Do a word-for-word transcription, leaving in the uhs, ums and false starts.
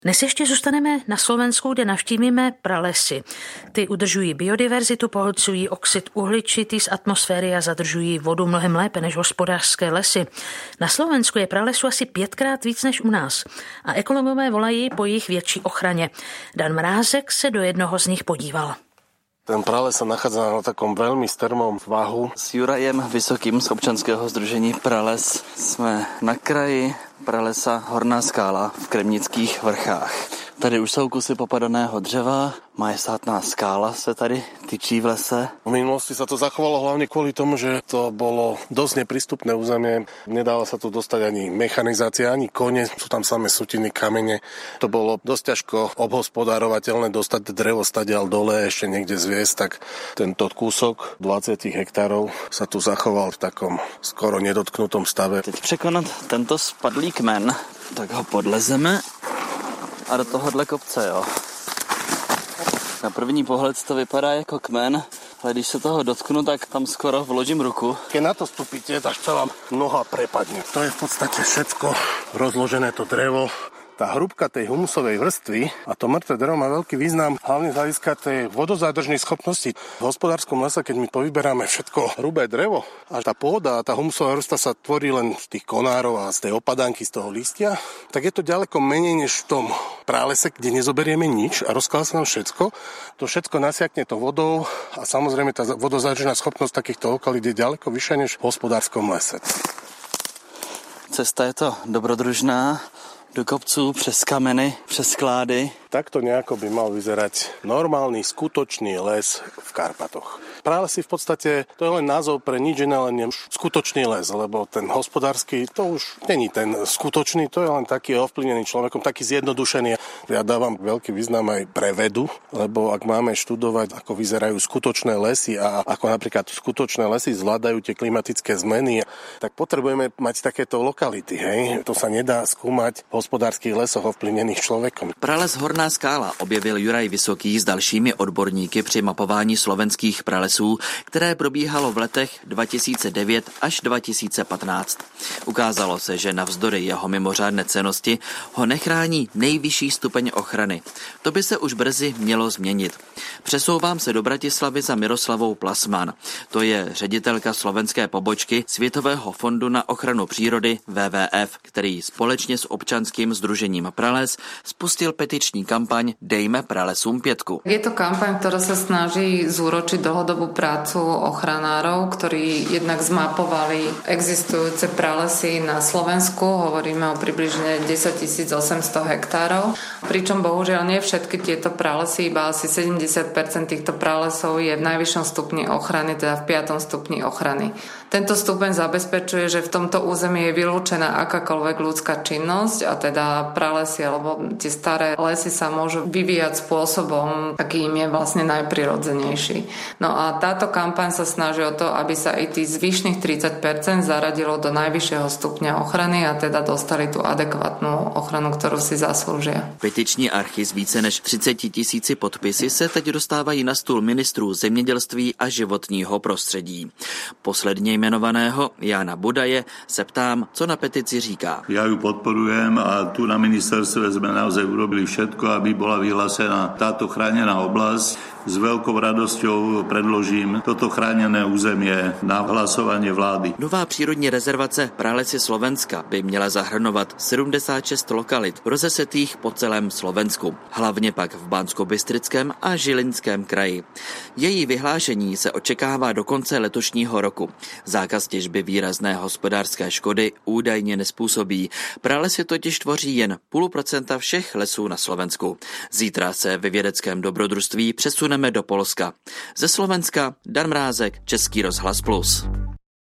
Dnes ještě zůstaneme na Slovensku, kde navštívíme pralesy. Ty udržují biodiverzitu, pohlcují oxid uhličitý z atmosféry a zadržují vodu mnohem lépe než hospodářské lesy. Na Slovensku je pralesu asi pětkrát víc než u nás a ekologové volají po jejich větší ochraně. Dan Mrázek se do jednoho z nich podíval. Ten prales sa nachádza na takom veľmi strmom svahu. S Jurajem Vysokým z občanského sdružení Prales jsme na kraji pralesa Horná skála v Kremnických vrchách. Tady už jsou kusy popadaného dřeva, majestátná skála se tady tyčí v lese. V minulosti sa to zachovalo hlavne kvôli tomu, že to bolo dosť neprístupné územie. Nedala sa tu dostať ani mechanizácia, ani kone, sú tam samé sutiny, kamene. To bolo dosť ťažko obhospodárovateľné dostať drevo stadiaľ dole, ešte niekde zviesť, tak tento kúsok dvadsať hektárov sa tu zachoval v takom skoro nedotknutom stave. Teď překonat tento spadlý kmen, tak ho podlezeme a do tohohle kopce, jo. Na první pohled to vypadá jako kmen, ale když se toho dotknu, tak tam skoro vložím ruku. Keď na to vstúpite, tak sa vám noha prepadne. To je v podstate všetko rozložené to drevo. Tá hrúbka tej humusovej vrstvy a to mŕtve drevo má veľký význam, hlavne z hľadiska tej vodozádržnej schopnosti. V hospodárskom lese, keď my povyberáme všetko hrubé drevo a tá pôda a tá humusová vrstva sa tvorí len z tých konárov a z tej opadanky, z toho listia, tak je to ďaleko menej než v tom pralese, kde nezoberieme nič a rozkladá sa nám všetko. To všetko nasiakne to vodou a samozrejme tá vodozádržná schopnosť takýchto lokalít je ďaleko vyššia než v hospodárskom lese. Cesta je to dobrodružná. Do kopců, přes kameny, přes sklády. Takto nejako by mal vyzerať normálny, skutočný les v Karpatoch. Pralesy v podstate, to je len názov pre nič iné, len skutočný les, lebo ten hospodársky, to už není ten skutočný, to je len taký ovplyvnený človekom, taký zjednodušený. Ja dávam veľký význam aj pre vedu, lebo ak máme študovať, ako vyzerajú skutočné lesy a ako napríklad skutočné lesy zvládajú tie klimatické zmeny, tak potrebujeme mať takéto lokality, hej? To sa nedá skúmať v hospodárskych lesoch ovplyvnených človekom. Prales Horná skála objevil Juraj Vysoký s dalšími odborníky při mapování slovenských pralesů, které probíhalo v letech dva tisíce devět až dva tisíce patnáct. Ukázalo se, že navzdory jeho mimořádné cennosti ho nechrání nejvyšší stupeň ochrany. To by se už brzy mělo změnit. Přesouvám se do Bratislavy za Miroslavou Plasman. To je ředitelka slovenské pobočky Světového fondu na ochranu přírody W W F, který společně s občanským sdružením Prales spustil petiční kampaň Dejme pralesům pětku. Je to kampaň, ktorá sa snaží zúročiť dlhodobú prácu ochranárov, ktorí jednak zmapovali existujúce pralesy na Slovensku. Hovoríme o približne desaťtisíc osemsto hektárov. Pričom bohužiaľ nie všetky tieto pralesy, iba asi sedemdesiat percent týchto pralesov je v najvyššom stupni ochrany, teda v piatom stupni ochrany. Tento stupeň zabezpečuje, že v tomto území je vylúčená akákoľvek ľudská činnosť a teda pralesy alebo tie staré lesy sa môžu vyvíjať spôsobom, aký im je vlastne najprirodzenejší. No a táto kampaň sa snaží o to, aby sa i tých zvyšných tridsať percent zaradilo do najvyššieho stupňa ochrany a teda dostali tú adekvátnu ochranu, ktorú si zaslúžia. Petiční archy s více než třiceti tisíci podpisy se teď dostávají na stůl ministrů zemědělství a životního prostředí. Posledně jmenovaného Jána Budaje se ptám, co na petici říká. Ja ju podporujem a tu na ministerstve sme naozaj urobili všetko, aby bola vyhlásená táto chránená oblasť. S veľkou radosťou predložím toto chráněné územie na hlasovanie vlády. Nová přírodní rezervace Pralesy Slovenska by měla zahrnovat sedmdesát šest lokalit rozesetých po celém Slovensku, hlavně pak v Banskobystrickém a Žilinském kraji. Její vyhlášení se očekává do konce letošního roku. Zákaz těžby výrazné hospodářské škody údajně nespůsobí. Pralesy totiž tvoří jen půl procenta všech lesů na Slovensku. Zítra se ve vědeckém dobrodružství přesuneme do Polska. Ze Slovenska Dan Mrázek, Český rozhlas Plus.